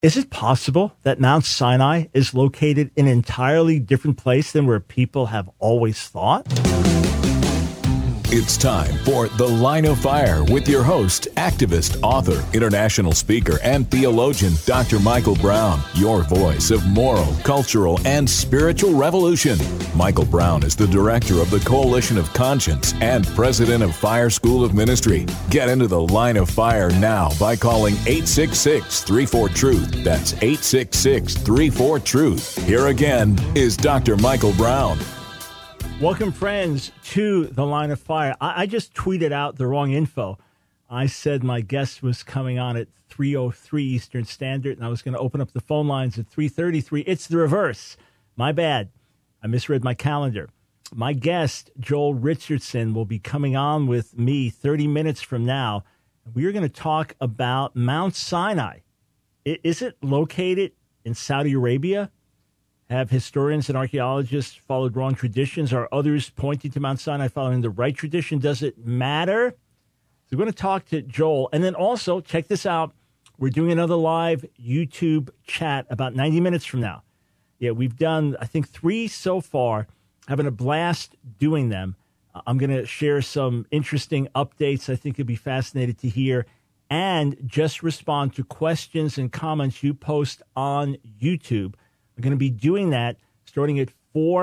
Is it possible that Mount Sinai is located in an entirely different place than where people have always thought? It's time for The Line of Fire with your host, activist, author, international speaker, and theologian, Dr. Michael Brown, your voice of moral, cultural, and spiritual revolution. Michael Brown is the director of the Coalition of Conscience and president of Fire School of Ministry. Get into The Line of Fire now by calling 866-34-TRUTH. That's 866-34-TRUTH. Here again is Dr. Michael Brown. Welcome, friends, to The Line of Fire. I just tweeted out the wrong info. I said my guest was coming on at 3:03 Eastern Standard, and I was going to open up the phone lines at 3:33. It's the reverse. My bad. I misread my calendar. My guest, Joel Richardson, will be coming on with me 30 minutes from now. We are going to talk about Mount Sinai. Is it located in Saudi Arabia? Have historians and archaeologists followed wrong traditions? Are others pointing to Mount Sinai following the right tradition? Does it matter? So we're going to talk to Joel. And then also, check this out. We're doing another live YouTube chat about 90 minutes from now. Yeah, we've done, I think, 3 so far. Having a blast doing them. I'm going to share some interesting updates I think you'll be fascinated to hear. And just respond to questions and comments you post on YouTube. We're going to be doing that starting at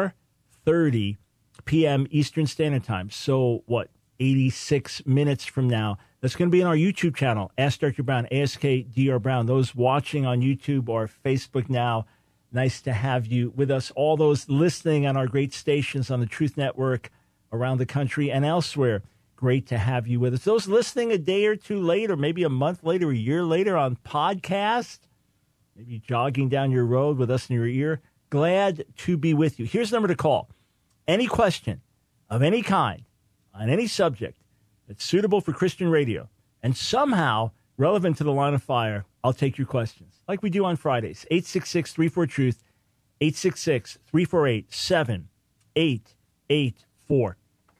4:30 p.m. Eastern Standard Time. So, 86 minutes from now. That's going to be on our YouTube channel, Ask Dr. Brown, ASKDR Brown. Those watching on YouTube or Facebook now, nice to have you with us. All those listening on our great stations on the Truth Network around the country and elsewhere, great to have you with us. Those listening a day or two later, maybe a month later, a year later on podcast, maybe jogging down your road with us in your ear. Glad to be with you. Here's the number to call. Any question of any kind on any subject that's suitable for Christian radio and somehow relevant to the Line of Fire, I'll take your questions like we do on Fridays. 866-34-TRUTH, 866-348-7884.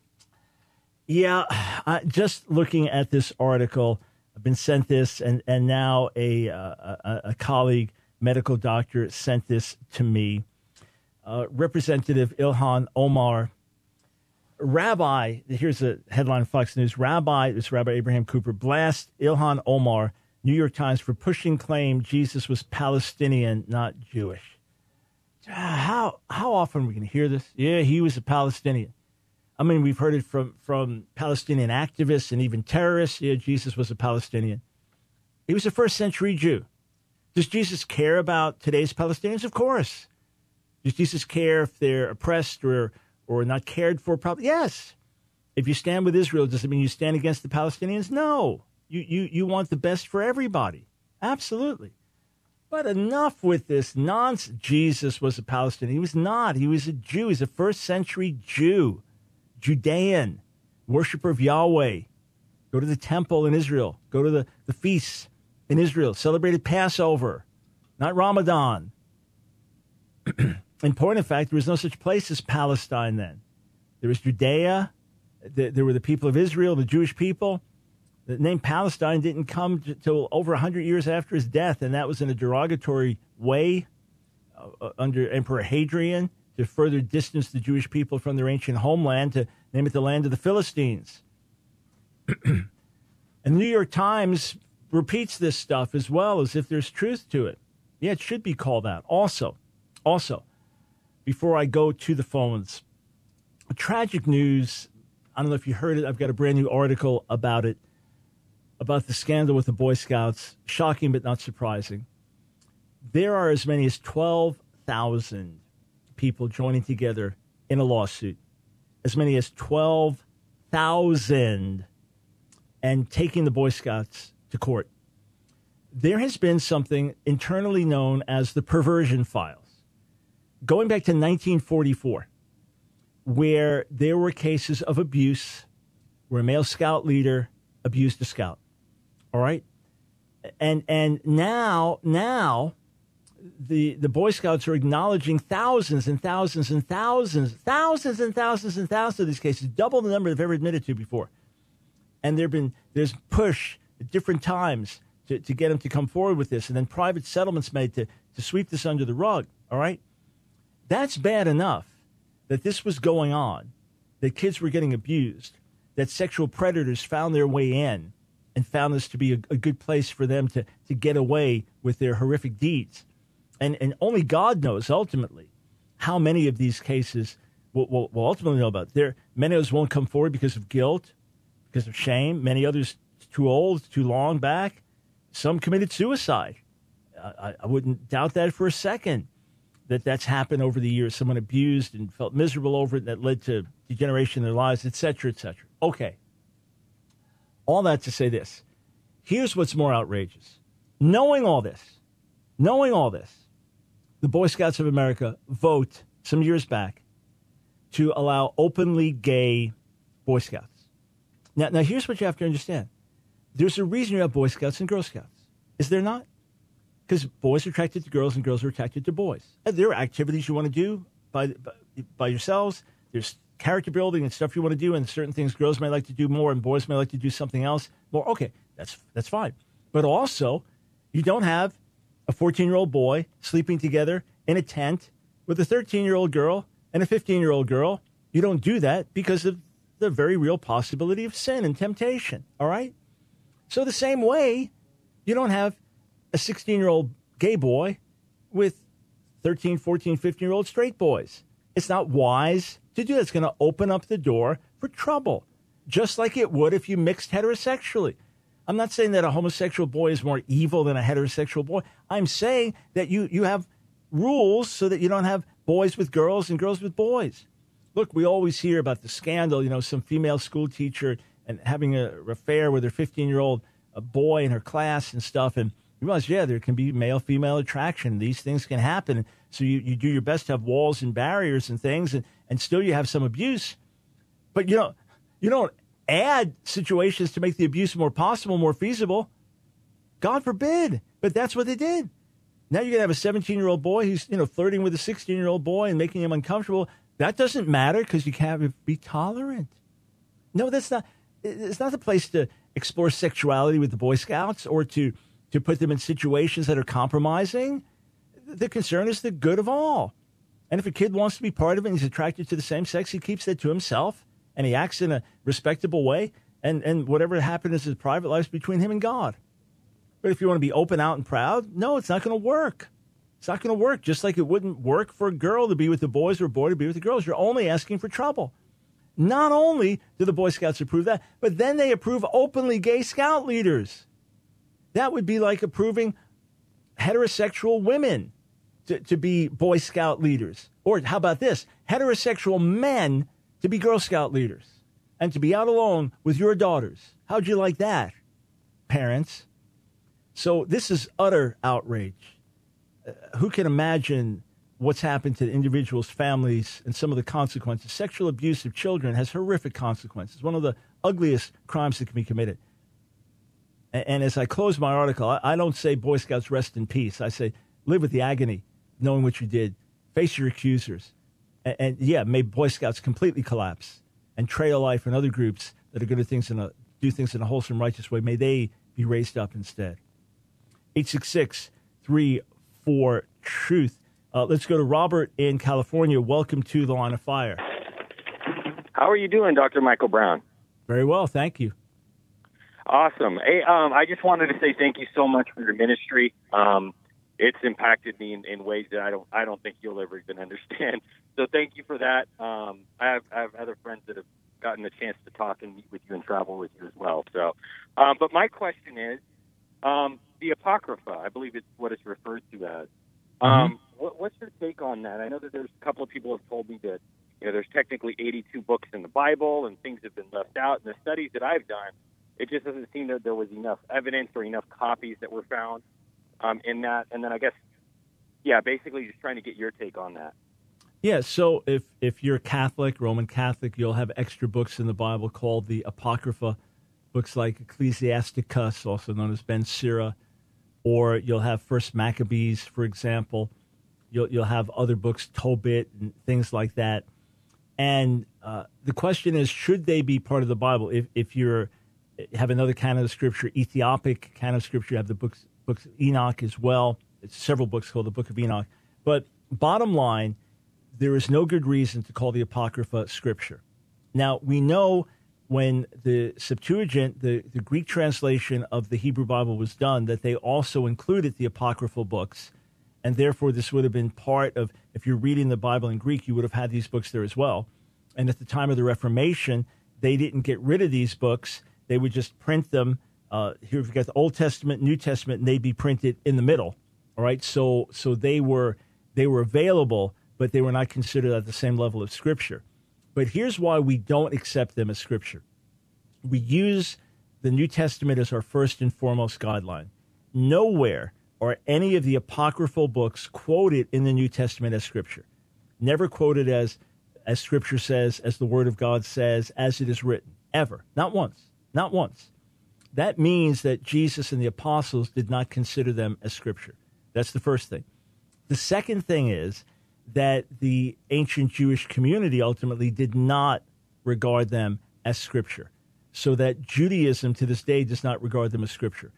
Yeah, just looking at this article, I've been sent this, and now a colleague, medical doctor, sent this to me. Representative Ilhan Omar, Rabbi, here's a headline of Fox News, Rabbi Abraham Cooper, blast Ilhan Omar, New York Times, for pushing claim Jesus was Palestinian, not Jewish. How often are we going to hear this? Yeah, he was a Palestinian. I mean, we've heard it from Palestinian activists and even terrorists. Yeah, Jesus was a Palestinian. He was a first-century Jew. Does Jesus care about today's Palestinians? Of course. Does Jesus care if they're oppressed or not cared for? Probably. Yes. If you stand with Israel, does it mean you stand against the Palestinians? No. You want the best for everybody. Absolutely. But enough with this nonsense. Jesus was a Palestinian. He was not. He was a Jew. He's a first-century Jew. Judean, worshiper of Yahweh. Go to the temple in Israel. Go to the feasts in Israel. Celebrated Passover, not Ramadan. In point of fact, there was no such place as Palestine then. There was Judea. There were the people of Israel, the Jewish people. The name Palestine didn't come till over 100 years after his death, and that was in a derogatory way under Emperor Hadrian, to further distance the Jewish people from their ancient homeland, to name it the land of the Philistines. And the New York Times repeats this stuff as well, as if there's truth to it. Yeah, it should be called out. Also, before I go to the phones, tragic news. I don't know if you heard it. I've got a brand new article about it, about the scandal with the Boy Scouts. Shocking, but not surprising. There are as many as 12,000 people joining together in a lawsuit, as many as 12,000, and taking the Boy Scouts to court. There has been something internally known as the perversion files, going back to 1944, where there were cases of abuse where a male scout leader abused a scout. All right? And now the Boy Scouts are acknowledging thousands and thousands and thousands of these cases, double the number they've ever admitted to before. And there's push at different times to get them to come forward with this, and then private settlements made to sweep this under the rug, all right? That's bad enough that this was going on, that kids were getting abused, that sexual predators found their way in and found this to be a good place for them to get away with their horrific deeds. And only God knows, ultimately, how many of these cases we'll ultimately know about. Many of those won't come forward because of guilt, because of shame. Many others too old, too long back. Some committed suicide. I wouldn't doubt that for a second, that's happened over the years. Someone abused and felt miserable over it, that led to degeneration in their lives, et cetera, et cetera. Okay. All that to say this. Here's what's more outrageous. Knowing all this, the Boy Scouts of America vote some years back to allow openly gay Boy Scouts. Now here's what you have to understand. There's a reason you have Boy Scouts and Girl Scouts. Is there not? Because boys are attracted to girls and girls are attracted to boys. And there are activities you want to do by yourselves. There's character building and stuff you want to do, and certain things girls may like to do more and boys may like to do something else more. Okay, that's fine. But also, you don't have a 14-year-old boy sleeping together in a tent with a 13-year-old girl and a 15-year-old girl. You don't do that because of the very real possibility of sin and temptation, all right? So the same way, you don't have a 16-year-old gay boy with 13, 14, 15-year-old straight boys. It's not wise to do that. It's going to open up the door for trouble, just like it would if you mixed heterosexually. I'm not saying that a homosexual boy is more evil than a heterosexual boy. I'm saying that you have rules so that you don't have boys with girls and girls with boys. Look, we always hear about the scandal, some female school teacher and having an affair with her 15-year-old boy in her class and stuff. And you realize, there can be male-female attraction. These things can happen. So you do your best to have walls and barriers and things, and still you have some abuse. But you don't add situations to make the abuse more possible, more feasible. God forbid. But that's what they did. Now you're going to have a 17-year-old boy who's flirting with a 16-year-old boy and making him uncomfortable. That doesn't matter because you can't be tolerant. No, that's not. It's not the place to explore sexuality with the Boy Scouts or to put them in situations that are compromising. The concern is the good of all. And if a kid wants to be part of it and he's attracted to the same sex, he keeps that to himself and he acts in a respectable way. And whatever happened is his private life between him and God. But if you want to be open, out, and proud, no, it's not going to work. It's not going to work, just like it wouldn't work for a girl to be with the boys or a boy to be with the girls. You're only asking for trouble. Not only do the Boy Scouts approve that, but then they approve openly gay scout leaders. That would be like approving heterosexual women to be Boy Scout leaders. Or how about this? Heterosexual men to be Girl Scout leaders and to be out alone with your daughters. How'd you like that, parents? So this is utter outrage. Who can imagine what's happened to individuals, families, and some of the consequences? Sexual abuse of children has horrific consequences, one of the ugliest crimes that can be committed. And as I close my article, I don't say Boy Scouts rest in peace. I say live with the agony, knowing what you did. Face your accusers. And may Boy Scouts completely collapse. And Trail Life and other groups that are going to do things in a wholesome, righteous way, may they be raised up instead. 866-34-TRUTH. Let's go to Robert in California. Welcome to The Line of Fire. How are you doing, Dr. Michael Brown? Very well, thank you. Awesome. Hey, I just wanted to say thank you so much for your ministry. It's impacted me in ways that I don't think you'll ever even understand. So thank you for that. I have other friends that have gotten the chance to talk and meet with you and travel with you as well. So, but my question is, the Apocrypha, I believe it's what it's referred to as. What's your take on that? I know that there's a couple of people have told me that there's technically 82 books in the Bible and things have been left out. In the studies that I've done, it just doesn't seem that there was enough evidence or enough copies that were found in that. And then I guess, basically just trying to get your take on that. Yeah, so if you're Catholic, Roman Catholic, you'll have extra books in the Bible called the Apocrypha, books like Ecclesiasticus, also known as Ben Sira, or you'll have First Maccabees, for example. You'll have other books, Tobit, and things like that. And the question is, should they be part of the Bible? If you're have another canon of Scripture, Ethiopic canon of Scripture. You have the books of Enoch as well. It's several books called the Book of Enoch. But bottom line, there is no good reason to call the Apocrypha Scripture. Now, we know when the Septuagint, the Greek translation of the Hebrew Bible was done, that they also included the apocryphal books. And therefore, this would have been part of, if you're reading the Bible in Greek, you would have had these books there as well. And at the time of the Reformation, they didn't get rid of these books. They would just print them. Here we've got the Old Testament, New Testament, and they'd be printed in the middle. All right, so they were available, but they were not considered at the same level of Scripture. But here's why we don't accept them as Scripture. We use the New Testament as our first and foremost guideline. Nowhere are any of the apocryphal books quoted in the New Testament as Scripture. Never quoted as Scripture says, as the Word of God says, as it is written. Ever. Not once. Not once. That means that Jesus and the apostles did not consider them as Scripture. That's the first thing. The second thing is that the ancient Jewish community ultimately did not regard them as Scripture, so that Judaism to this day does not regard them as Scripture.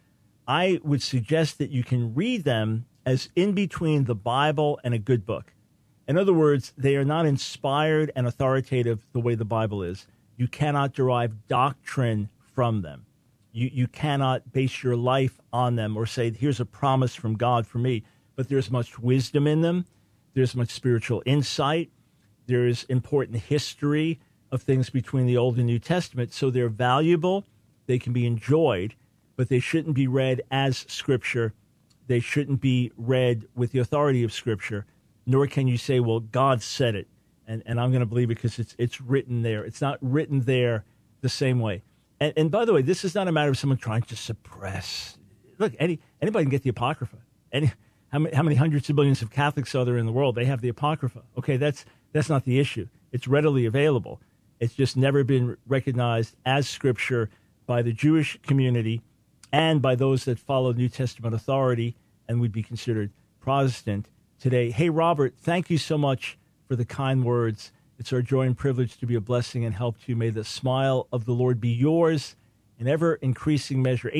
I would suggest that you can read them as in between the Bible and a good book. In other words, they are not inspired and authoritative the way the Bible is. You cannot derive doctrine from them. You cannot base your life on them or say, here's a promise from God for me. But there's much wisdom in them. There's much spiritual insight. There is important history of things between the Old and New Testament. So they're valuable. They can be enjoyed, but they shouldn't be read as Scripture. They shouldn't be read with the authority of Scripture, nor can you say, well, God said it, and I'm going to believe it because it's written there. It's not written there the same way. And by the way, this is not a matter of someone trying to suppress. Look, anybody can get the Apocrypha. How many hundreds of millions of Catholics are there in the world? They have the Apocrypha. Okay, that's not the issue. It's readily available. It's just never been recognized as Scripture by the Jewish community and by those that follow New Testament authority and would be considered Protestant today. Hey, Robert, thank you so much for the kind words. It's our joy and privilege to be a blessing and help to you. May the smile of the Lord be yours in ever-increasing measure.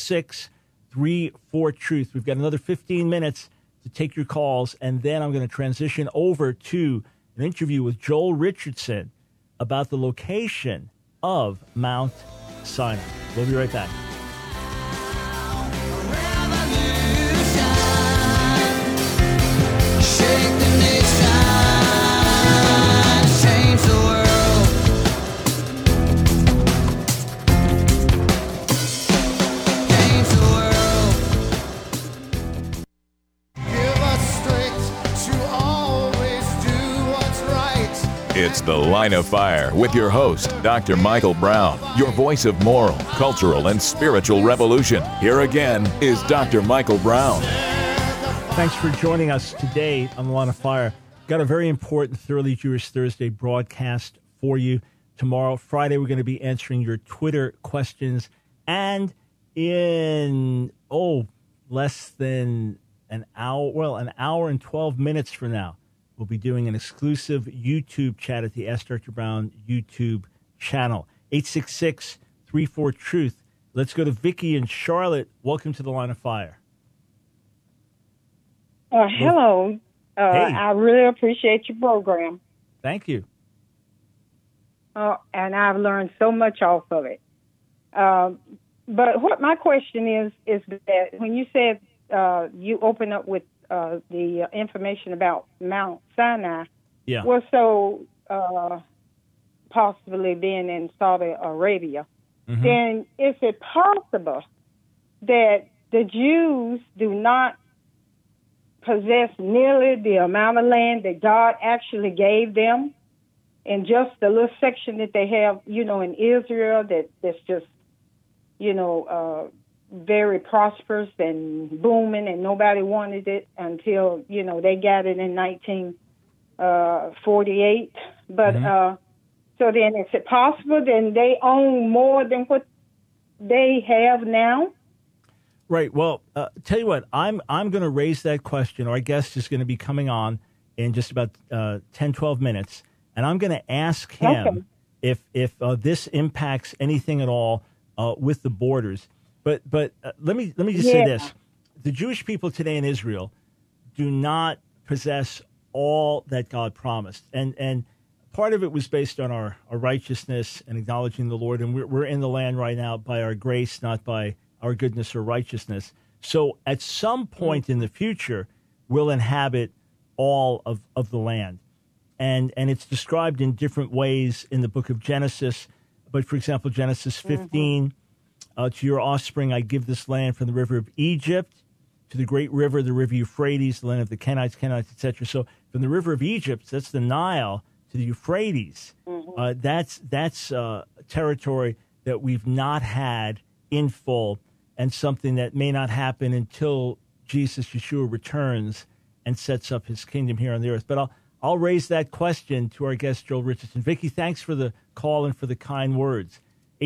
866-34-TRUTH. We've got another 15 minutes to take your calls, and then I'm going to transition over to an interview with Joel Richardson about the location of Mount Sinai. We'll be right back. It's The Line of Fire with your host, Dr. Michael Brown, your voice of moral, cultural, and spiritual revolution. Here again is Dr. Michael Brown. Thanks for joining us today on The Line of Fire. Got a very important Thoroughly Jewish Thursday broadcast for you. Tomorrow, Friday, we're going to be answering your Twitter questions. And in, less than an hour and 12 minutes from now, we'll be doing an exclusive YouTube chat at the Ask Dr. Brown YouTube channel. 866-34-TRUTH. Let's go to Vicki in Charlotte. Welcome to The Line of Fire. Hello. Hey. I really appreciate your program. Thank you. And I've learned so much off of it. But what my question is that when you said you open up with the information about Mount Sinai, Yeah. was so possibly being in Saudi Arabia, then is it possible that the Jews do not possess nearly the amount of land that God actually gave them in just the little section that they have, in Israel that's just, very prosperous and booming, and nobody wanted it until, they got it in 1948. But so then is it possible then they own more than what they have now? Right. Well, tell you what, I'm going to raise that question. Our guest is going to be coming on in just about 10, 12 minutes, and I'm going to ask him if this impacts anything at all with the borders. But let me just say this: the Jewish people today in Israel do not possess all that God promised, and part of it was based on our righteousness and acknowledging the Lord, and we're in the land right now by our grace, not by our goodness or righteousness. So at some point in the future, we'll inhabit all of the land. And it's described in different ways in the book of Genesis. But, for example, Genesis 15, to your offspring I give this land from the river of Egypt to the great river, the river Euphrates, the land of the Kenites, etc. So from the river of Egypt, that's the Nile, to the Euphrates, that's territory that we've not had in full, and something that may not happen until Jesus, Yeshua, returns and sets up his kingdom here on the earth. But I'll raise that question to our guest, Joel Richardson. Vicki, thanks for the call and for the kind words.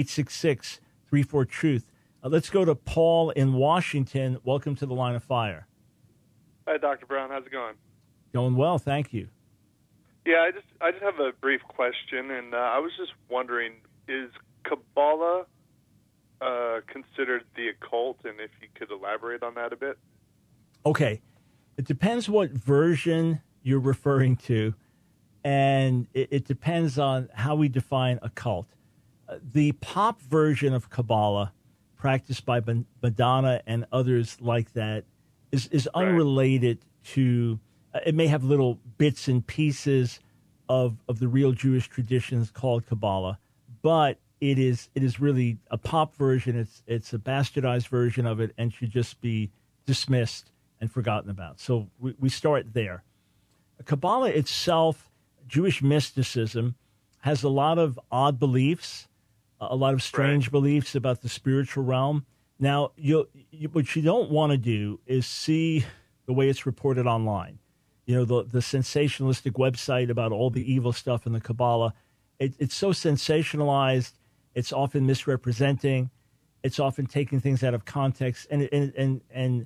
866-34-TRUTH. Let's go to Paul in Washington. Welcome to the Line of Fire. Hi, Dr. Brown. How's it going? Going well, thank you. Yeah, I just have a brief question, and I was just wondering, is Kabbalah considered the occult, and if you could elaborate on that a bit? Okay. It depends what version you're referring to, and it depends on how we define occult. The pop version of Kabbalah, practiced by Madonna and others like that, is unrelated to, it may have little bits and pieces of the real Jewish traditions called Kabbalah, but it is really a pop version. It's a bastardized version of it and should just be dismissed and forgotten about. So we start there. Kabbalah itself, Jewish mysticism, has a lot of odd beliefs, a lot of strange beliefs about the spiritual realm. Now, what you don't want to do is see the way it's reported online. You know, the sensationalistic website about all the evil stuff in the Kabbalah. It's so sensationalized. It's often misrepresenting. It's often taking things out of context. And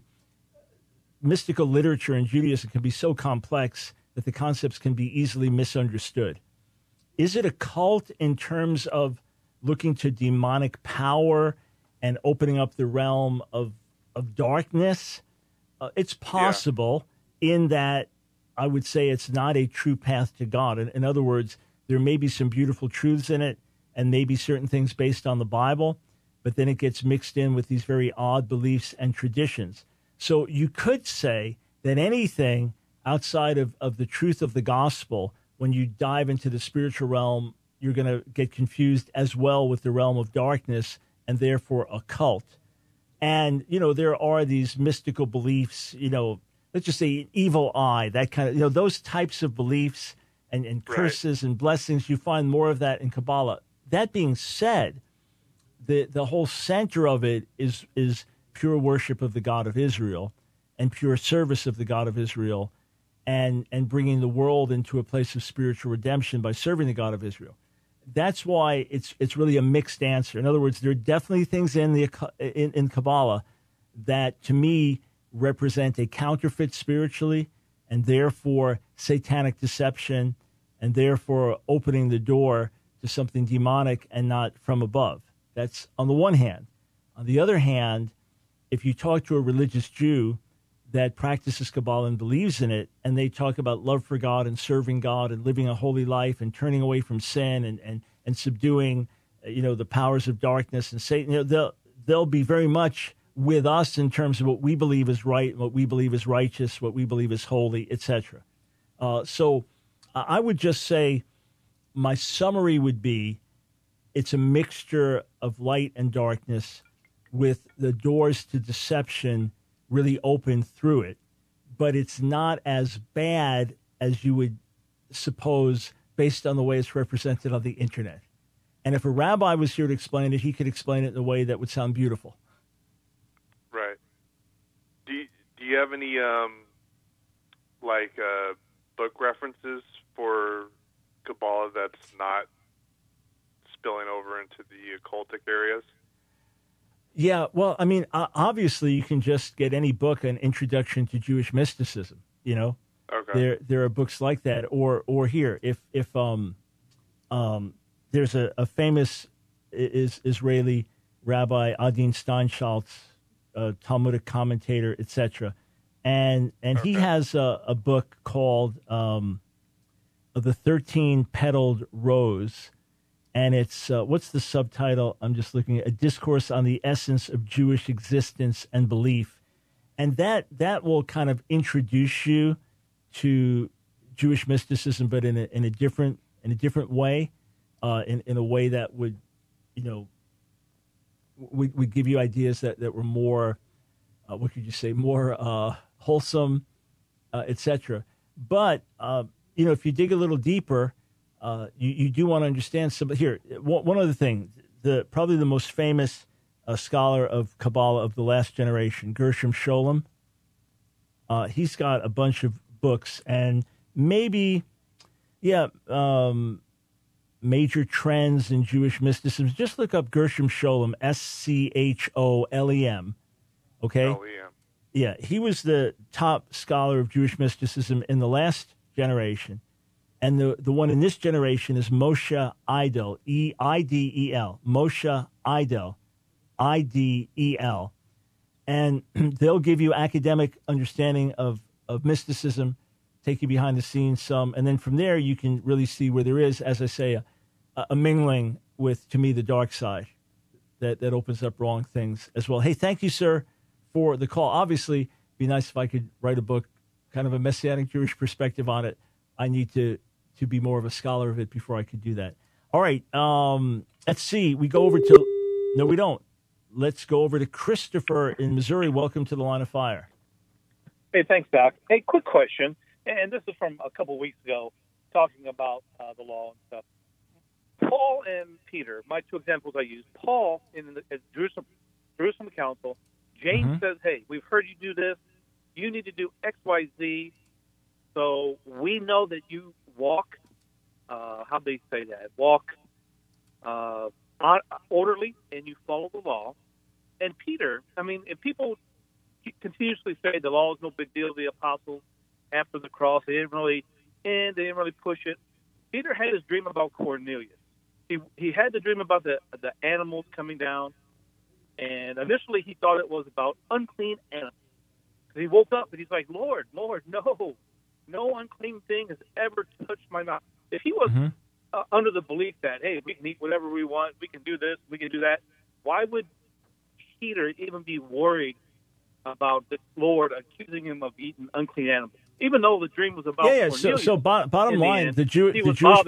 mystical literature in Judaism can be so complex that the concepts can be easily misunderstood. Is it a cult in terms of looking to demonic power and opening up the realm of darkness? It's possible in that I would say it's not a true path to God. In other words, there may be some beautiful truths in it and maybe certain things based on the Bible, but then it gets mixed in with these very odd beliefs and traditions. So you could say that anything outside of the truth of the gospel, when you dive into the spiritual realm, you're going to get confused as well with the realm of darkness and therefore occult. And, you know, there are these mystical beliefs, you know, let's just say evil eye, that kind of, you know, those types of beliefs and curses and blessings. You find more of that in Kabbalah. That being said, the whole center of it is pure worship of the God of Israel and pure service of the God of Israel and bringing the world into a place of spiritual redemption by serving the God of Israel. That's why it's really a mixed answer. In other words, there are definitely things in Kabbalah that, to me, represent a counterfeit spiritually and therefore satanic deception and therefore opening the door to something demonic and not from above. That's on the one hand. On the other hand, if you talk to a religious Jew that practices Kabbalah and believes in it, and they talk about love for God and serving God and living a holy life and turning away from sin and subduing, you know, the powers of darkness and Satan, you know, they'll be very much with us in terms of what we believe is right, what we believe is righteous, what we believe is holy, etc. So I would just say my summary would be it's a mixture of light and darkness with the doors to deception really open through it. But it's not as bad as you would suppose based on the way it's represented on the internet. And if a rabbi was here to explain it, he could explain it in a way that would sound beautiful. Right. Do you have any book references for Kabbalah that's not spilling over into the occultic areas? Yeah, well, I mean, obviously, you can just get any book, An Introduction to Jewish Mysticism. You know, there are books like that. Or here, if there's a famous Israeli Rabbi Adin Steinschaltz, Talmudic commentator, etc. And he has a book called The 13-Petaled Rose. And it's, what's the subtitle? I'm just looking at A Discourse on the Essence of Jewish Existence and Belief. And that will kind of introduce you to Jewish mysticism, but in a different way, in a way that would, would give you ideas that were more, what could you say, more wholesome, etc. But if you dig a little deeper, you do want to understand some. Here, one other thing, probably the most famous scholar of Kabbalah of the last generation, Gershom Scholem. He's got a bunch of books, and maybe, major trends in Jewish mysticism. Just look up Gershom Scholem, Scholem. Okay? L-E-M. Yeah, he was the top scholar of Jewish mysticism in the last generation. And the one in this generation is Moshe Idel, E-I-D-E-L, Moshe Idel, I-D-E-L. And they'll give you academic understanding of mysticism, take you behind the scenes some, and then from there you can really see where there is, as I say, a mingling with, to me, the dark side that opens up wrong things as well. Hey, thank you, sir, for the call. Obviously, it'd be nice if I could write a book, kind of a Messianic Jewish perspective on it. I need to be more of a scholar of it before I could do that. All right, let's see. We go over to, no, we don't. Let's go over to Christopher in Missouri. Welcome to the Line of Fire. Hey, thanks, Doc. Hey, quick question, and this is from a couple weeks ago, talking about the law and stuff. Paul and Peter, my two examples I use. Paul in the Jerusalem Council, James says, hey, we've heard you do this. You need to do X, Y, Z. So we know that you walk, how they say that, walk orderly and you follow the law. And Peter, I mean, if people continuously say the law is no big deal, the apostles after the cross, they didn't really push it. Peter had his dream about Cornelius. He had the dream about the animals coming down, and initially he thought it was about unclean animals. He woke up and he's like, Lord, no unclean thing has ever touched my mouth. If he was under the belief that, hey, we can eat whatever we want, we can do this, we can do that, why would Peter even be worried about the Lord accusing him of eating unclean animals? Even though the dream was about Cornelius. So bottom line, the Jewish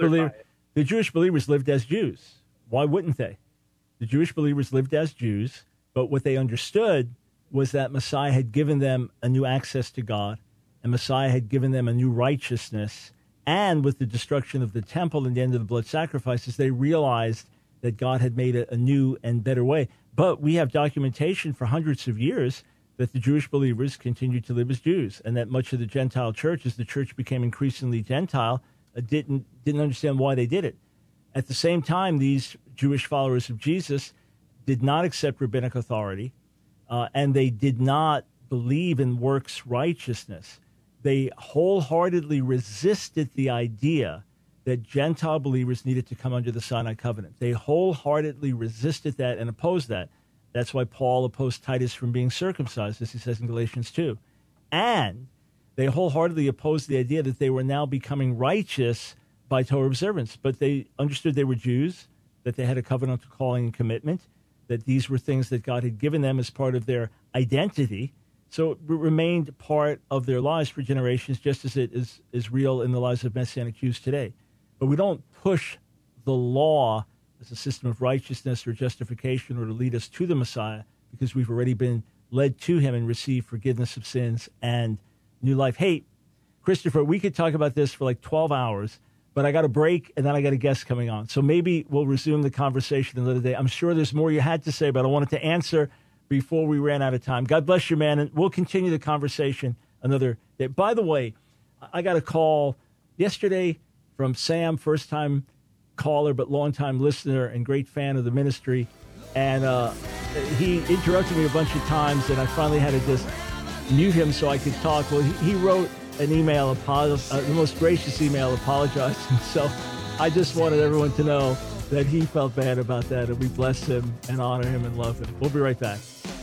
believers lived as Jews. Why wouldn't they? The Jewish believers lived as Jews, but what they understood was that Messiah had given them a new access to God, and Messiah had given them a new righteousness. And with the destruction of the temple and the end of the blood sacrifices, they realized that God had made a new and better way. But we have documentation for hundreds of years that the Jewish believers continued to live as Jews, and that much of the Gentile church, as the church became increasingly Gentile, didn't understand why they did it. At the same time, these Jewish followers of Jesus did not accept rabbinic authority, and they did not believe in works righteousness. They wholeheartedly resisted the idea that Gentile believers needed to come under the Sinai covenant. They wholeheartedly resisted that and opposed that. That's why Paul opposed Titus from being circumcised, as he says in Galatians 2. And they wholeheartedly opposed the idea that they were now becoming righteous by Torah observance. But they understood they were Jews, that they had a covenantal calling and commitment, that these were things that God had given them as part of their identity. So it remained part of their lives for generations, just as it is real in the lives of Messianic Jews today. But we don't push the law as a system of righteousness or justification or to lead us to the Messiah, because we've already been led to him and received forgiveness of sins and new life. Hey, Christopher, we could talk about this for like 12 hours, but I got a break and then I got a guest coming on. So maybe we'll resume the conversation another day. I'm sure there's more you had to say, but I wanted to answer before we ran out of time. God bless you, man, and we'll continue the conversation another day. By the way, I got a call yesterday from Sam, first-time caller but long-time listener and great fan of the ministry, and he interrupted me a bunch of times, and I finally had to just mute him so I could talk. Well, he wrote an email, the most gracious email, apologizing. So I just wanted everyone to know that he felt bad about that, and we bless him and honor him and love him. We'll be right back.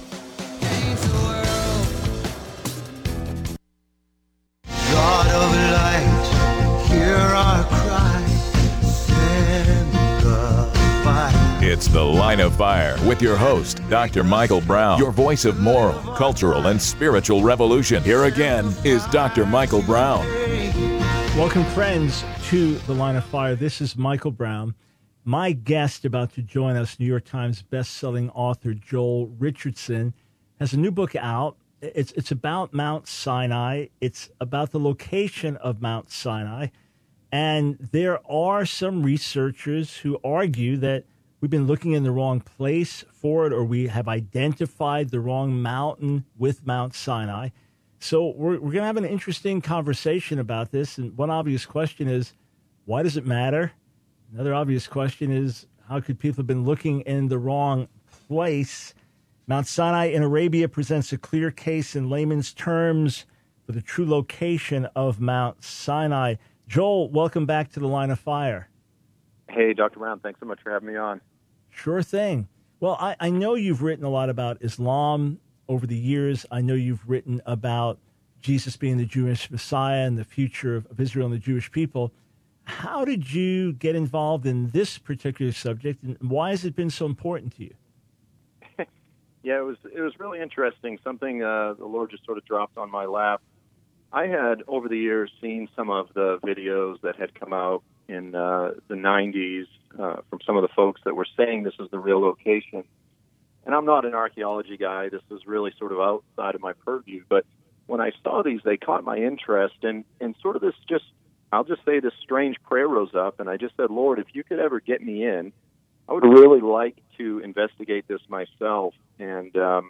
God of light, hear our cry, send goodbye. It's The Line of Fire with your host, Dr. Michael Brown, your voice of moral, cultural, and spiritual revolution. Here again is Dr. Michael Brown. Welcome, friends, to The Line of Fire. This is Michael Brown. My guest about to join us, New York Times best-selling author Joel Richardson, has a new book out. It's about Mount Sinai. It's about the location of Mount Sinai. And there are some researchers who argue that we've been looking in the wrong place for it, or we have identified the wrong mountain with Mount Sinai. So we're going to have an interesting conversation about this. And one obvious question is, why does it matter? Another obvious question is, how could people have been looking in the wrong place? Mount Sinai in Arabia presents a clear case in layman's terms for the true location of Mount Sinai. Joel, welcome back to The Line of Fire. Hey, Dr. Brown, thanks so much for having me on. Sure thing. Well, I know you've written a lot about Islam over the years. I know you've written about Jesus being the Jewish Messiah and the future of Israel and the Jewish people. How did you get involved in this particular subject, and why has it been so important to you? Yeah, it was really interesting. Something the Lord just sort of dropped on my lap. I had, over the years, seen some of the videos that had come out in the 90s from some of the folks that were saying this is the real location. And I'm not an archaeology guy. This is really sort of outside of my purview. But when I saw these, they caught my interest. And sort of this I'll just say this strange prayer rose up. And I just said, Lord, if you could ever get me in, I would really like to investigate this myself. And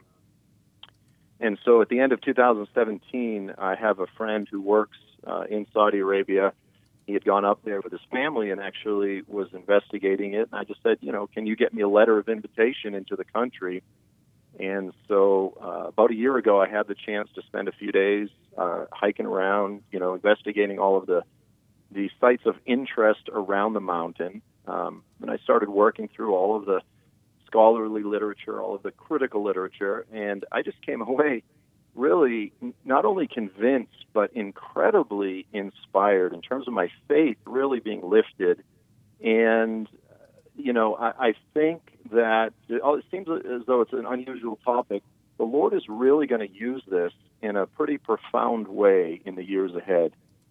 so at the end of 2017, I have a friend who works in Saudi Arabia. He had gone up there with his family and actually was investigating it. And I just said, can you get me a letter of invitation into the country? And so about a year ago, I had the chance to spend a few days hiking around, investigating all of the sites of interest around the mountain. And I started working through all of the scholarly literature, all of the critical literature, and I just came away really not only convinced, but incredibly inspired in terms of my faith really being lifted. And, I think that it seems as though it's an unusual topic. The Lord is really going to use this in a pretty profound way in the years ahead.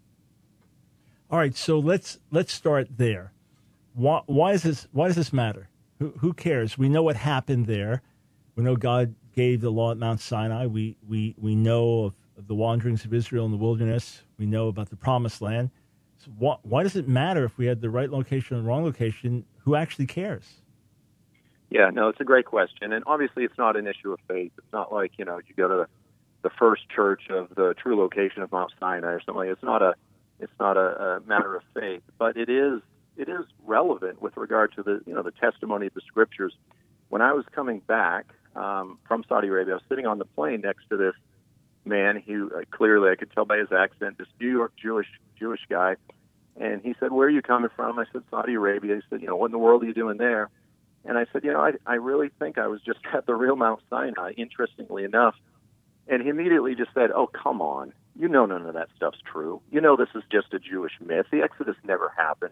All right, so let's start there. Why does this matter? Who cares? We know what happened there. We know God gave the law at Mount Sinai. We know of the wanderings of Israel in the wilderness. We know about the Promised Land. So why does it matter if we had the right location or the wrong location? Who actually cares? Yeah, no, it's a great question. And obviously it's not an issue of faith. It's not like, you go to the first church of the true location of Mount Sinai or something. It's not a matter of faith, but it is relevant with regard to the testimony of the Scriptures. When I was coming back from Saudi Arabia, I was sitting on the plane next to this man who clearly I could tell by his accent, this New York Jewish guy, and he said, "Where are you coming from?" I said, "Saudi Arabia." He said, "What in the world are you doing there?" And I said, I really think I was just at the real Mount Sinai, interestingly enough. And he immediately just said, "Oh, come on. None of that stuff's true. This is just a Jewish myth. The Exodus never happened."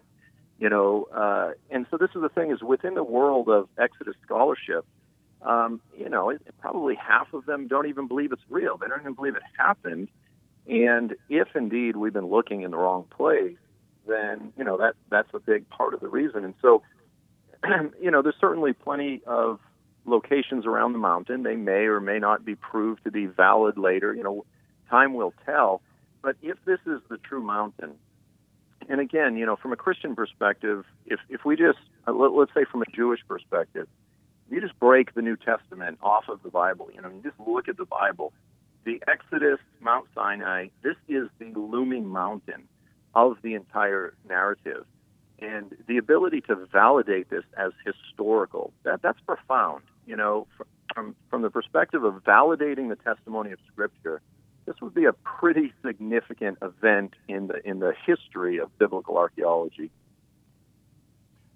And so this is the thing, is within the world of Exodus scholarship, probably half of them don't even believe it's real. They don't even believe it happened. And if indeed we've been looking in the wrong place, then, that's a big part of the reason. And so, there's certainly plenty of locations around the mountain. They may or may not be proved to be valid later. Time will tell. But if this is the true mountain, and again, from a Christian perspective, if we just, let's say from a Jewish perspective, you just break the New Testament off of the Bible, you just look at the Bible, the Exodus, Mount Sinai, this is the looming mountain of the entire narrative. And the ability to validate this as historical, that's profound. From the perspective of validating the testimony of Scripture, this would be a pretty significant event in the history of biblical archaeology.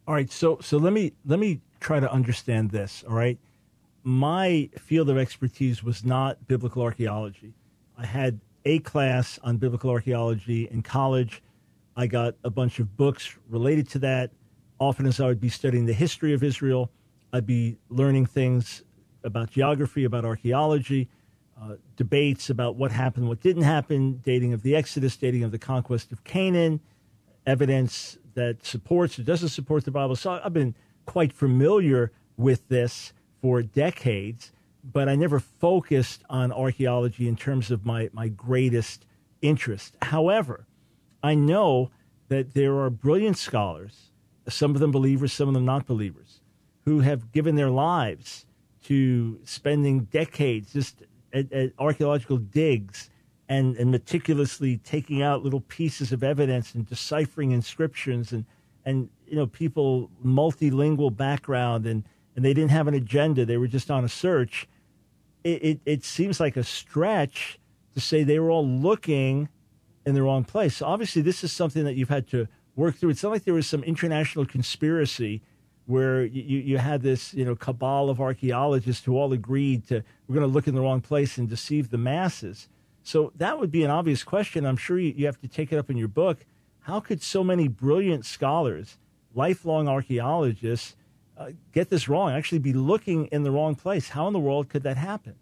All right, so let me try to understand this. All right, my field of expertise was not biblical archaeology. I had a class on biblical archaeology in college. I got a bunch of books related to that. Often, as I would be studying the history of Israel, I'd be learning things about geography, about archaeology, debates about what happened, what didn't happen, dating of the Exodus, dating of the conquest of Canaan, evidence that supports or doesn't support the Bible. So I've been quite familiar with this for decades, but I never focused on archaeology in terms of my greatest interest. However, I know that there are brilliant scholars, some of them believers, some of them not believers, who have given their lives to spending decades just at archaeological digs and meticulously taking out little pieces of evidence and deciphering inscriptions and people multilingual background and they didn't have an agenda. They were just on a search. It seems like a stretch to say they were all looking in the wrong place. So obviously this is something that you've had to work through. It's not like there was some international conspiracy where you had this, cabal of archaeologists who all agreed to, we're going to look in the wrong place and deceive the masses. So that would be an obvious question. I'm sure you have to take it up in your book. How could so many brilliant scholars, lifelong archaeologists, get this wrong, actually be looking in the wrong place? How in the world could that happen?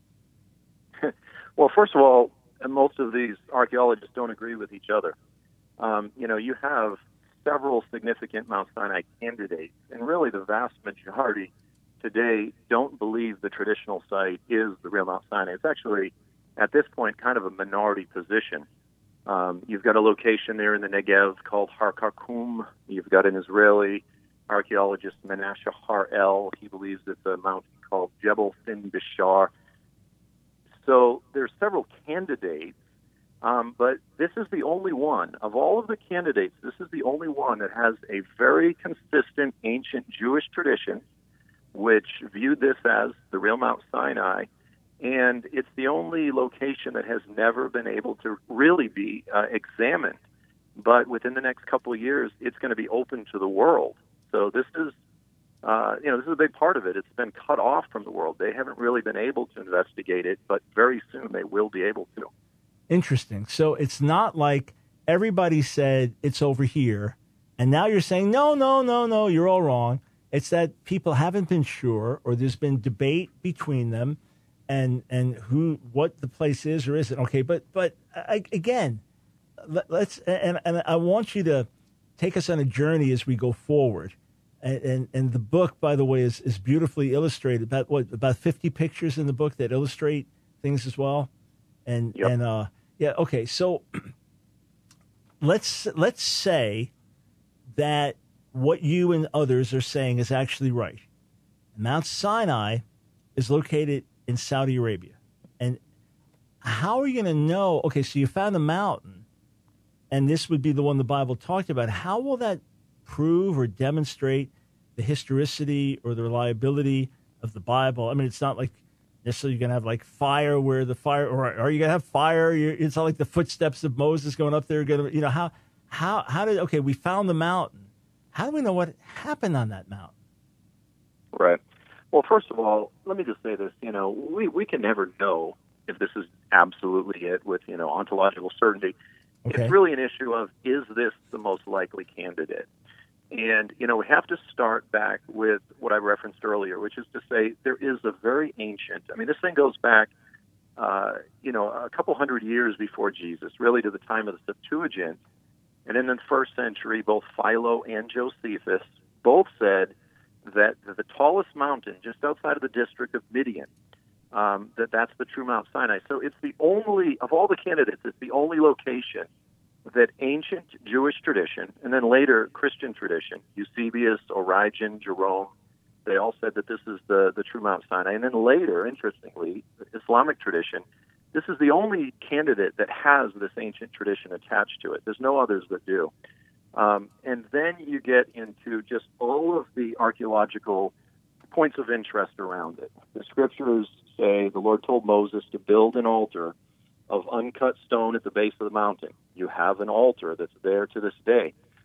Well, first of all, most of these archaeologists don't agree with each other. You have several significant Mount Sinai candidates, and really the vast majority today don't believe the traditional site is the real Mount Sinai. It's actually, at this point, kind of a minority position. You've got a location there in the Negev called Har Karkum. You've got an Israeli archaeologist, Menashe Har-El. He believes it's a mountain called Jebel Sin Bishar. So there's several candidates, but this is the only one. Of all of the candidates, this is the only one that has a very consistent ancient Jewish tradition, which viewed this as the real Mount Sinai, and it's the only location that has never been able to really be examined. But within the next couple of years, it's going to be open to the world. So this is, this is a big part of it. It's been cut off from the world. They haven't really been able to investigate it, but very soon they will be able to. Interesting. So it's not like everybody said it's over here, and now you're saying, no, you're all wrong. It's that people haven't been sure, or there's been debate between them, and what the place is or isn't. Okay, but again, let's and I want you to take us on a journey as we go forward. And the book, by the way, is beautifully illustrated. About 50 pictures in the book that illustrate things as well. And yep. Okay. So let's say that what you and others are saying is actually right. Mount Sinai is located in Saudi Arabia. And how are you going to know? Okay, so you found a mountain, and this would be the one the Bible talked about. How will that prove or demonstrate the historicity or the reliability of the Bible? I mean, it's not like necessarily you're going to have like fire where the fire, or are you going to have fire? It's not like the footsteps of Moses going up there. How did, okay, we found the mountain. How do we know what happened on that mountain? Right. Well, first of all, let me just say this. We can never know if this is absolutely it with, ontological certainty. Okay. It's really an issue of, is this the most likely candidate? And, we have to start back with what I referenced earlier, which is to say there is a very ancient, this thing goes back, a couple hundred years before Jesus, really to the time of the Septuagint. And in the first century, both Philo and Josephus both said that the tallest mountain just outside of the district of Midian, that's the true Mount Sinai. So it's the only, of all the candidates, it's the only location that ancient Jewish tradition, and then later Christian tradition, Eusebius, Origen, Jerome, they all said that this is the true Mount Sinai. And then later, interestingly, the Islamic tradition, this is the only candidate that has this ancient tradition attached to it. There's no others that do. And then you get into just all of the archaeological points of interest around it. The scriptures say the Lord told Moses to build an altar of uncut stone at the base of the mountain. You have an altar that's there to this day.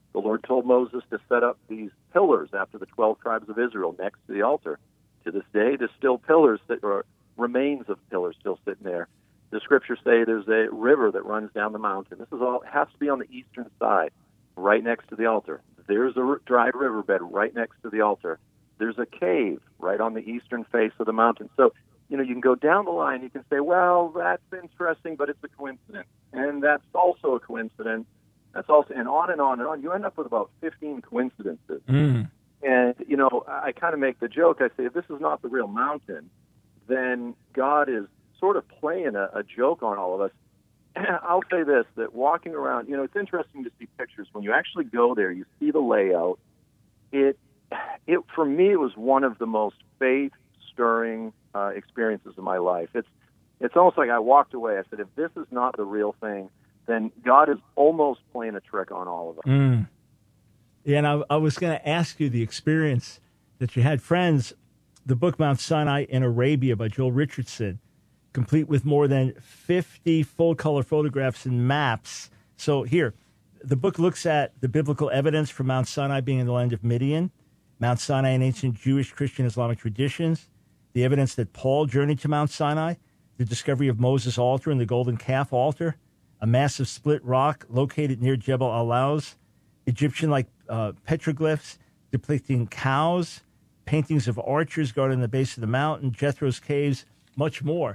The Lord told Moses to set up these pillars after the 12 tribes of Israel next to the altar. To this day, there's still pillars or remains of pillars still sitting there. The scriptures say there's a river that runs down the mountain. This is all has to be on the eastern side, right next to the altar. There's a dry riverbed right next to the altar. There's a cave right on the eastern face of the mountain. So, you can go down the line. You can say, well, that's interesting, but it's a coincidence. And that's also a coincidence. That's also, and on and on and on. You end up with about 15 coincidences. Mm. And, I kind of make the joke. I say, if this is not the real mountain, then God is sort of playing a joke on all of us. I'll say this, that walking around, it's interesting to see pictures. When you actually go there, you see the layout. It for me, it was one of the most faith-stirring experiences of my life. It's almost like I walked away. I said, if this is not the real thing, then God is almost playing a trick on all of us. Mm. Yeah, and I was going to ask you the experience that you had. Friends, the book Mount Sinai in Arabia by Joel Richardson, complete with more than 50 full-color photographs and maps. So here, the book looks at the biblical evidence for Mount Sinai being in the land of Midian, Mount Sinai in ancient Jewish, Christian, Islamic traditions, the evidence that Paul journeyed to Mount Sinai, the discovery of Moses' altar and the golden calf altar, a massive split rock located near Jebel al-Lawz, Egyptian-like petroglyphs depicting cows, paintings of archers guarding the base of the mountain, Jethro's caves, much more.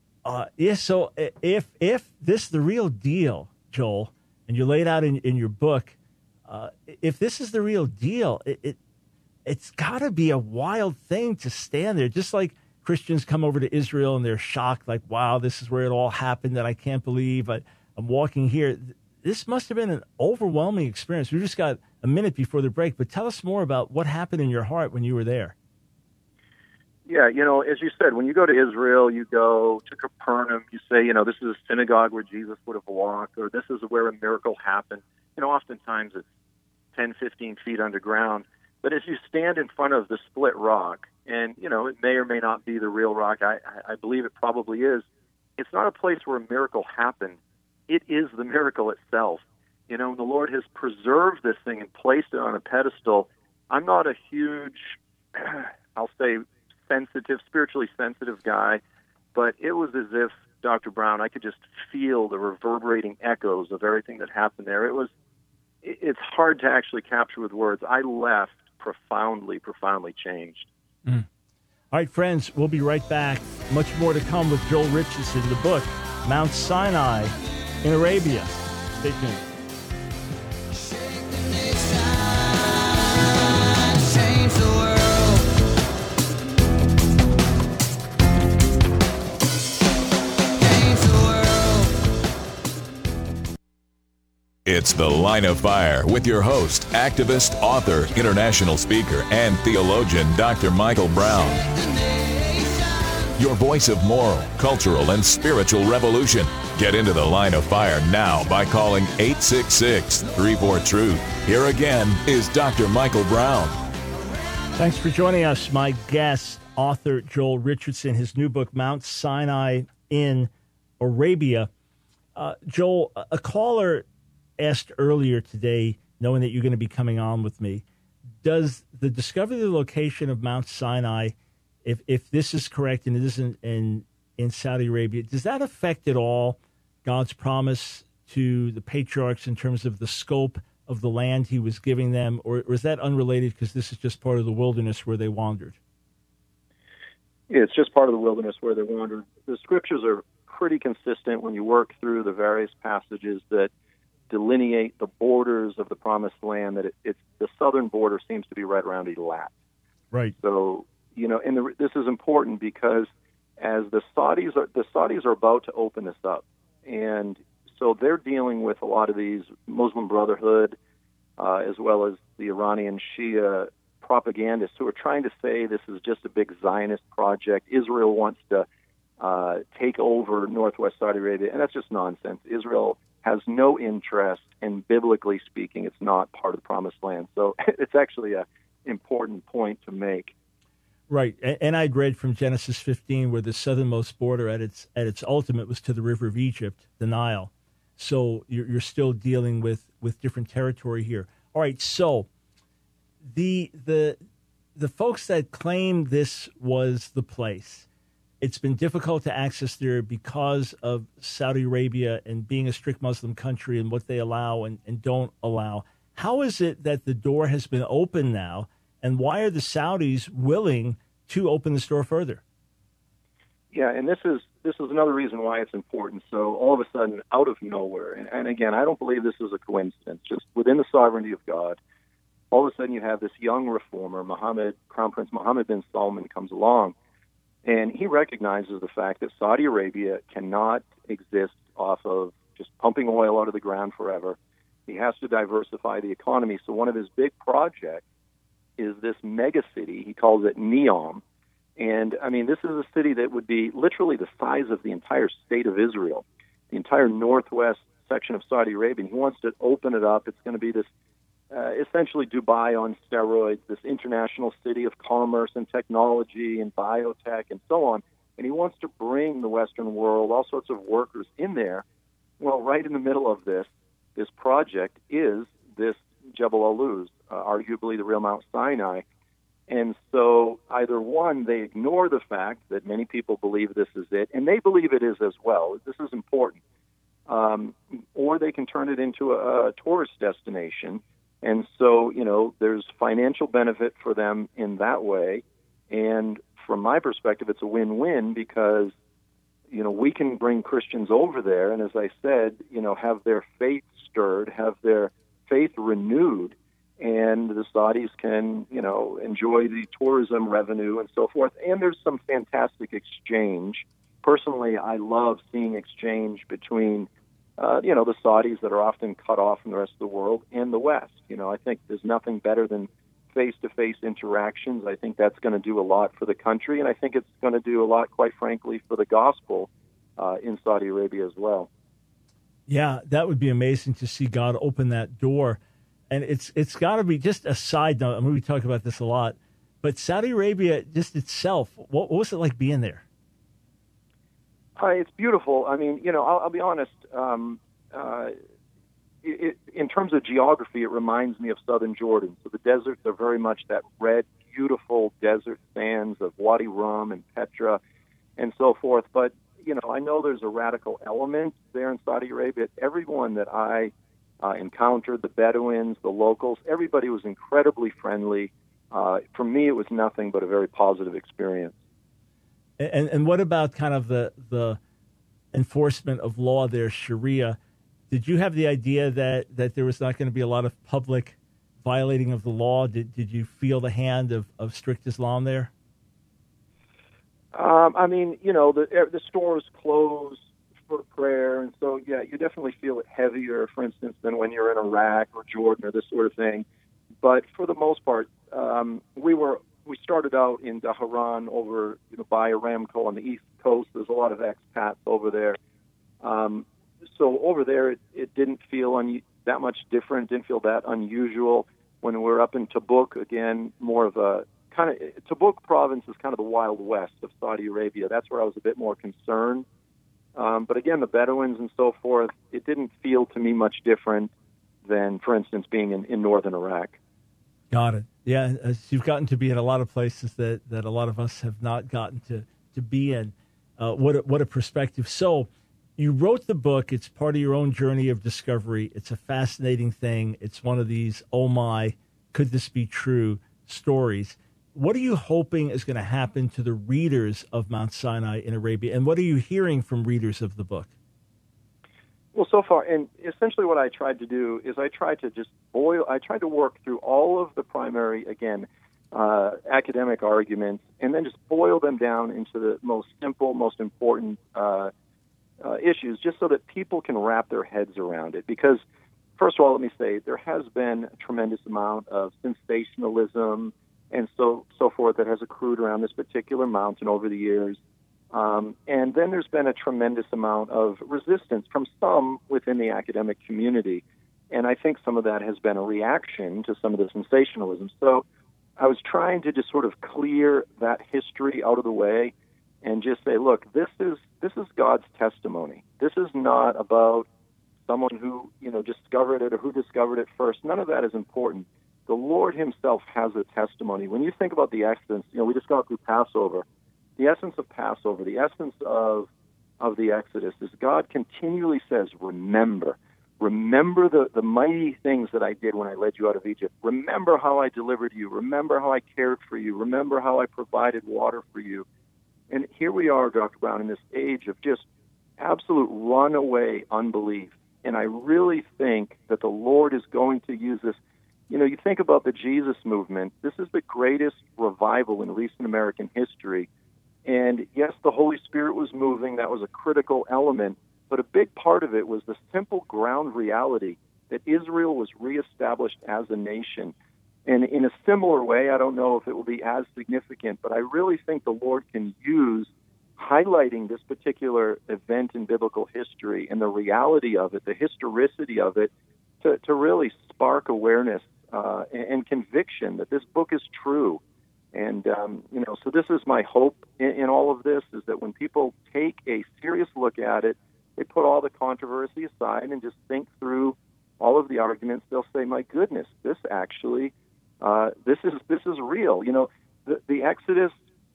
So if this is the real deal, Joel, and you laid out in your book, if this is the real deal, it's got to be a wild thing to stand there. Just like Christians come over to Israel and they're shocked, like, wow, this is where it all happened, that I can't believe I'm walking here. This must have been an overwhelming experience. We just got a minute before the break, but tell us more about what happened in your heart when you were there. Yeah, as you said, when you go to Israel, you go to Capernaum, you say, this is a synagogue where Jesus would have walked, or this is where a miracle happened. Oftentimes it's 10, 15 feet underground. But as you stand in front of the split rock, and, it may or may not be the real rock, I believe it probably is, it's not a place where a miracle happened. It is the miracle itself. The Lord has preserved this thing and placed it on a pedestal. I'm not a huge, I'll say, spiritually sensitive guy, but it was as if, Dr. Brown, I could just feel the reverberating echoes of everything that happened there. It's hard to actually capture with words. I left profoundly changed. Mm. All right, friends, we'll be right back. Much more to come with Joel Richardson, the book, Mount Sinai in Arabia. Stay tuned. It's The Line of Fire with your host, activist, author, international speaker, and theologian, Dr. Michael Brown. Your voice of moral, cultural, and spiritual revolution. Get into The Line of Fire now by calling 866-34-TRUTH. Here again is Dr. Michael Brown. Thanks for joining us. My guest, author Joel Richardson, his new book, Mount Sinai in Arabia. Joel, a caller asked earlier today, knowing that you're going to be coming on with me, does the discovery of the location of Mount Sinai, if this is correct and it isn't in Saudi Arabia, does that affect at all God's promise to the patriarchs in terms of the scope of the land he was giving them, or is that unrelated because this is just part of the wilderness where they wandered? Yeah, it's just part of the wilderness where they wandered. The scriptures are pretty consistent when you work through the various passages that delineate the borders of the promised land, that it's the southern border seems to be right around Eilat. Right. So, this is important because as the Saudis are about to open this up, and so they're dealing with a lot of these Muslim Brotherhood, as well as the Iranian Shia propagandists who are trying to say this is just a big Zionist project. Israel wants to take over northwest Saudi Arabia, and that's just nonsense. Israel has no interest, and biblically speaking, it's not part of the promised land. So it's actually an important point to make. Right, and I'd read from Genesis 15 where the southernmost border at its ultimate was to the river of Egypt, the Nile. So you're still dealing with different territory here. All right, so the folks that claim this was the place, it's been difficult to access there because of Saudi Arabia and being a strict Muslim country and what they allow and don't allow. How is it that the door has been opened now, and why are the Saudis willing to open this door further? Yeah, and this is another reason why it's important. So all of a sudden, out of nowhere, and again, I don't believe this is a coincidence, just within the sovereignty of God, all of a sudden you have this young reformer, Crown Prince Mohammed bin Salman, comes along, and he recognizes the fact that Saudi Arabia cannot exist off of just pumping oil out of the ground forever. He has to diversify the economy. So one of his big projects is this mega city. He calls it Neom. And, I mean, this is a city that would be literally the size of the entire state of Israel, the entire northwest section of Saudi Arabia. And he wants to open it up. It's going to be this essentially Dubai on steroids, this international city of commerce and technology and biotech and so on. And he wants to bring the Western world, all sorts of workers in there. Well, right in the middle of this project is this Jebel al-Luz, arguably the real Mount Sinai. And so either one, they ignore the fact that many people believe this is it, and they believe it is as well. This is important. Or they can turn it into a tourist destination. And so, there's financial benefit for them in that way. And from my perspective, it's a win-win because, we can bring Christians over there and, as I said, have their faith stirred, have their faith renewed, and the Saudis can, enjoy the tourism revenue and so forth. And there's some fantastic exchange. Personally, I love seeing exchange between, the Saudis that are often cut off from the rest of the world and the West. I think there's nothing better than face-to-face interactions. I think that's going to do a lot for the country, and I think it's going to do a lot, quite frankly, for the gospel in Saudi Arabia as well. Yeah, that would be amazing to see God open that door. And it's got to be, just a side note, I mean, we talk about this a lot, but Saudi Arabia just itself, what was it like being there? It's beautiful. I mean, I'll be honest, in terms of geography, it reminds me of southern Jordan. So the deserts are very much that red, beautiful desert sands of Wadi Rum and Petra and so forth. But, I know there's a radical element there in Saudi Arabia. Everyone that I encountered, the Bedouins, the locals, everybody was incredibly friendly. For me, it was nothing but a very positive experience. And what about kind of the enforcement of law there, Sharia? Did you have the idea that there was not going to be a lot of public violating of the law? Did you feel the hand of strict Islam there? The stores close for prayer, and so, yeah, you definitely feel it heavier, for instance, than when you're in Iraq or Jordan or this sort of thing. But for the most part, we started out in Dhahran over by Aramco on the East Coast. There's a lot of expats over there. So over there, it didn't feel that much different, didn't feel that unusual. When we're up in Tabuk, again, more of a Tabuk province is kind of the Wild West of Saudi Arabia. That's where I was a bit more concerned. But again, the Bedouins and so forth, it didn't feel to me much different than, for instance, being in northern Iraq. Got it. Yeah, you've gotten to be in a lot of places that a lot of us have not gotten to be in. What a perspective. So you wrote the book. It's part of your own journey of discovery. It's a fascinating thing. It's one of these, oh my, could this be true stories. What are you hoping is going to happen to the readers of Mount Sinai in Arabia? And what are you hearing from readers of the book? Well, so far, and essentially what I tried to do is I tried to work through all of the primary, again, academic arguments, and then just boil them down into the most simple, most important issues, just so that people can wrap their heads around it. Because, first of all, let me say, there has been a tremendous amount of sensationalism and so forth that has accrued around this particular mountain over the years. And then there's been a tremendous amount of resistance from some within the academic community. And I think some of that has been a reaction to some of the sensationalism. So I was trying to just sort of clear that history out of the way and just say, look, this is God's testimony. This is not about someone who, discovered it or who discovered it first. None of that is important. The Lord himself has a testimony. When you think about the Exodus, we just got through Passover. The essence of Passover, the essence of the Exodus is God continually says, remember the mighty things that I did when I led you out of Egypt. Remember how I delivered you. Remember how I cared for you. Remember how I provided water for you. And here we are, Dr. Brown, in this age of just absolute runaway unbelief. And I really think that the Lord is going to use this. You think about the Jesus movement. This is the greatest revival in recent American history. And yes, the Holy Spirit was moving. That was a critical element. But a big part of it was the simple ground reality that Israel was reestablished as a nation. And in a similar way, I don't know if it will be as significant, but I really think the Lord can use highlighting this particular event in biblical history and the reality of it, the historicity of it, to really spark awareness and conviction that this book is true. And, so this is my hope in all of this, is that when people take a serious look at it, they put all the controversy aside and just think through all of the arguments. They'll say, my goodness, this actually, this is real. The Exodus,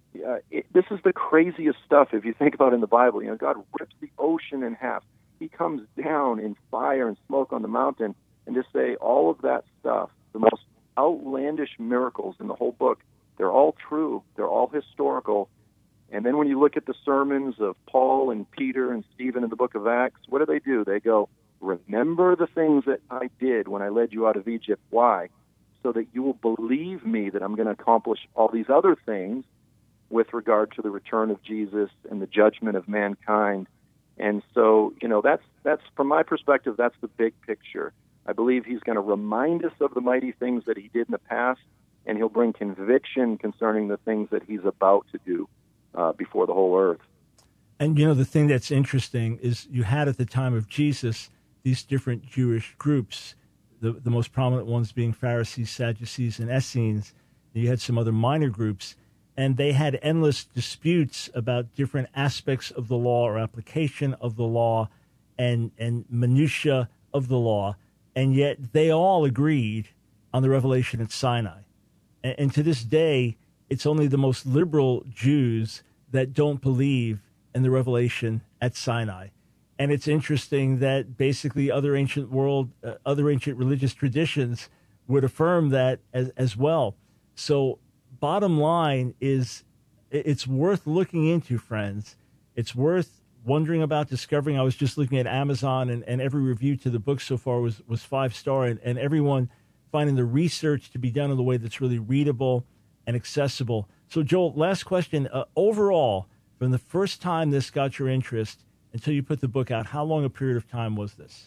this is the craziest stuff if you think about it in the Bible. God rips the ocean in half. He comes down in fire and smoke on the mountain, and to say all of that stuff, the most outlandish miracles in the whole book, they're all true. They're all historical. And then when you look at the sermons of Paul and Peter and Stephen in the book of Acts, what do? They go, remember the things that I did when I led you out of Egypt. Why? So that you will believe me that I'm going to accomplish all these other things with regard to the return of Jesus and the judgment of mankind. And so, that's from my perspective, that's the big picture. I believe he's going to remind us of the mighty things that he did in the past, and he'll bring conviction concerning the things that he's about to do before the whole earth. And, the thing that's interesting is you had at the time of Jesus these different Jewish groups, the most prominent ones being Pharisees, Sadducees, and Essenes. You had some other minor groups, and they had endless disputes about different aspects of the law or application of the law and minutia of the law, and yet they all agreed on the revelation at Sinai. And to this day, it's only the most liberal Jews that don't believe in the revelation at Sinai. And it's interesting that basically other ancient religious traditions would affirm that as well. So bottom line is it's worth looking into, friends. It's worth wondering about, discovering. I was just looking at Amazon, and every review to the book so far was 5-star, and everyone finding the research to be done in a way that's really readable and accessible. So, Joel, last question. Overall, from the first time this got your interest until you put the book out, how long a period of time was this?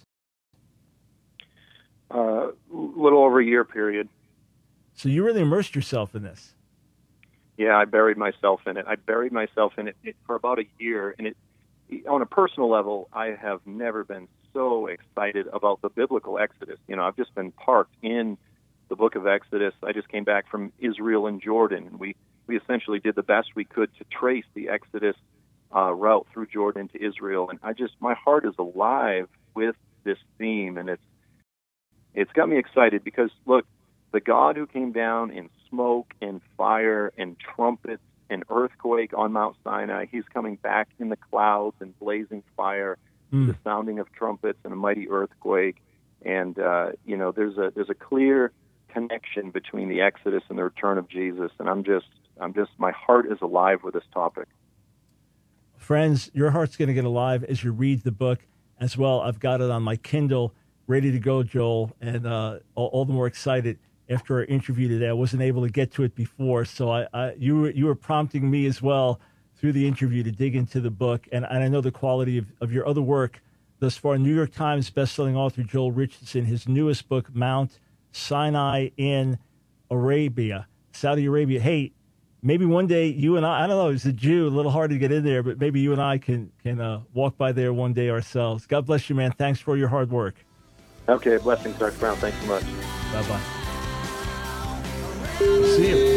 Little over a year period. So you really immersed yourself in this. Yeah, I buried myself in it. For about a year. And on a personal level, I have never been so excited about the biblical Exodus. I've just been parked in the book of Exodus. I just came back from Israel and Jordan, and we essentially did the best we could to trace the Exodus route through Jordan to Israel. And my heart is alive with this theme, and it's got me excited because, look, the God who came down in smoke and fire and trumpets and earthquake on Mount Sinai, he's coming back in the clouds and blazing fire, the sounding of trumpets and a mighty earthquake. And, there's a clear connection between the Exodus and the return of Jesus. And my heart is alive with this topic. Friends, your heart's going to get alive as you read the book as well. I've got it on my Kindle, ready to go, Joel, and all the more excited after our interview today. I wasn't able to get to it before, so you were prompting me as well through the interview to dig into the book, and I know the quality of your other work thus far. New York Times bestselling author Joel Richardson, his newest book, Mount Sinai in Saudi Arabia. Hey, maybe one day you and I don't know, as a Jew, a little hard to get in there, but maybe you and I can walk by there one day ourselves. God bless you, man. Thanks for your hard work. Okay, blessings, Dr. Brown. Thanks so much. Bye-bye. See you.